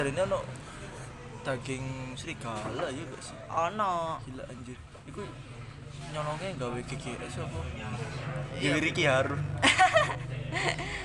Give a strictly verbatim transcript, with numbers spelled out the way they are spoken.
Hari ini ono daging serigala ya gak sih? Ono. Gila anjir. Iku nyolongnya gawe G G S apa? Iya. Dewi Ricky Harun.